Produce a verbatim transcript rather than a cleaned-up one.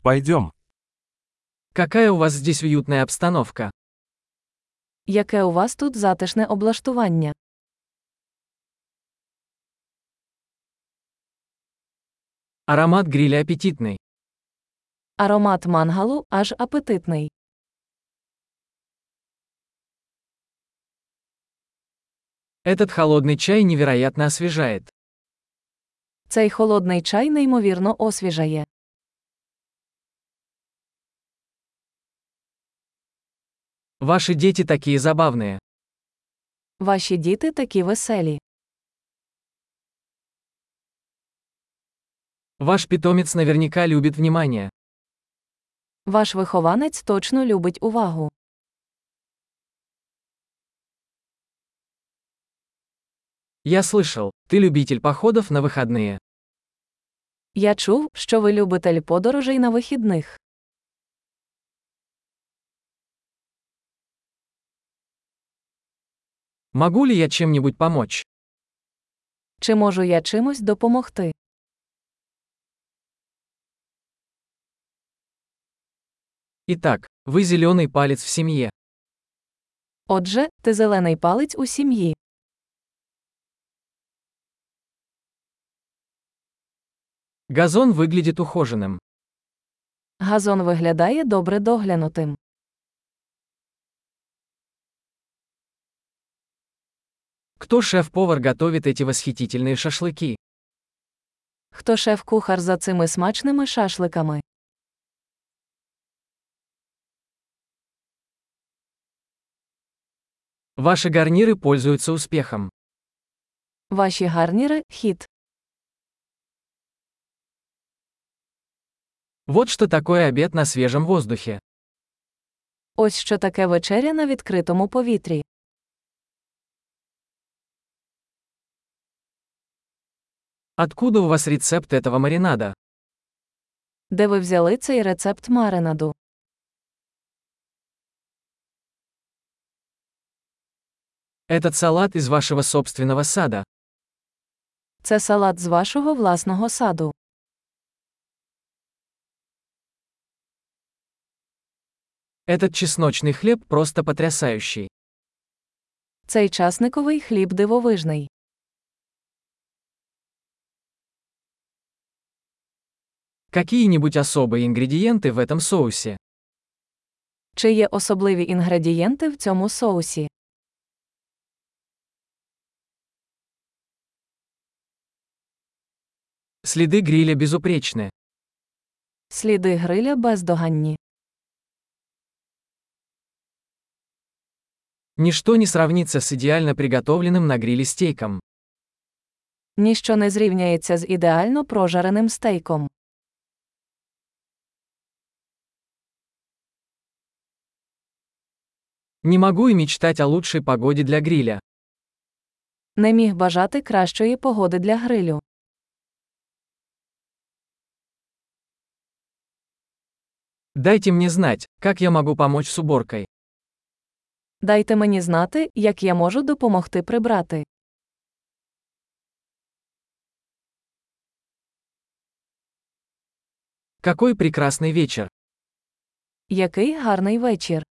Пойдем. Какая у вас здесь уютная обстановка. Яке у вас тут затишне облаштування? Аромат гриля аппетитный. Аромат мангалу аж апетитний. Этот холодный чай невероятно освежает. Цей холодний чай неймовірно освіжає. Ваши дети такие забавные. Ваші діти такі веселі. Ваш питомец наверняка любит внимание. Ваш вихованець точно любить увагу. Я слышал, ты любитель походов на выходные. Я чув, що ви любитель подорожей на вихідних. Могу ли я чем-нибудь помочь? Чи можу я чимось допомогти? Итак, вы зеленый палец в семье. Отже, ти зелений палець у сім'ї. Газон выглядит ухоженным. Газон виглядає добре доглянутим. Кто шеф-повар готовит эти восхитительные шашлыки? Хто шеф-кухар за цими смачними шашликами? Ваши гарниры пользуются успехом. Ваші гарніри – хіт. Вот что такое обед на свежем воздухе. Ось що таке вечеря на відкритому повітрі. Откуда у вас рецепт этого маринада? Де ви взяли цей рецепт маринаду? Этот салат из вашего собственного сада. Це салат з вашого власного саду. Этот чесночный хлеб просто потрясающий. Цей часниковий хліб дивовижний. Какие-нибудь особые ингредиенты в этом соусе? Чи є особливі інгредієнти в цьому соусі? Следы гриля безупречны. Сліди гриля бездоганні. Ничто не сравнится с идеально приготовленным на гриле стейком. Ніщо не зрівняється з ідеально прожареним стейком. Не могу и мечтать о лучшей погоде для гриля. Не міг бажати кращої погоди для грилю. Дайте мне знать, как я могу помочь с уборкой. Дайте мені знати, як я можу допомогти прибрати. Какой прекрасный вечер. Який гарний вечір.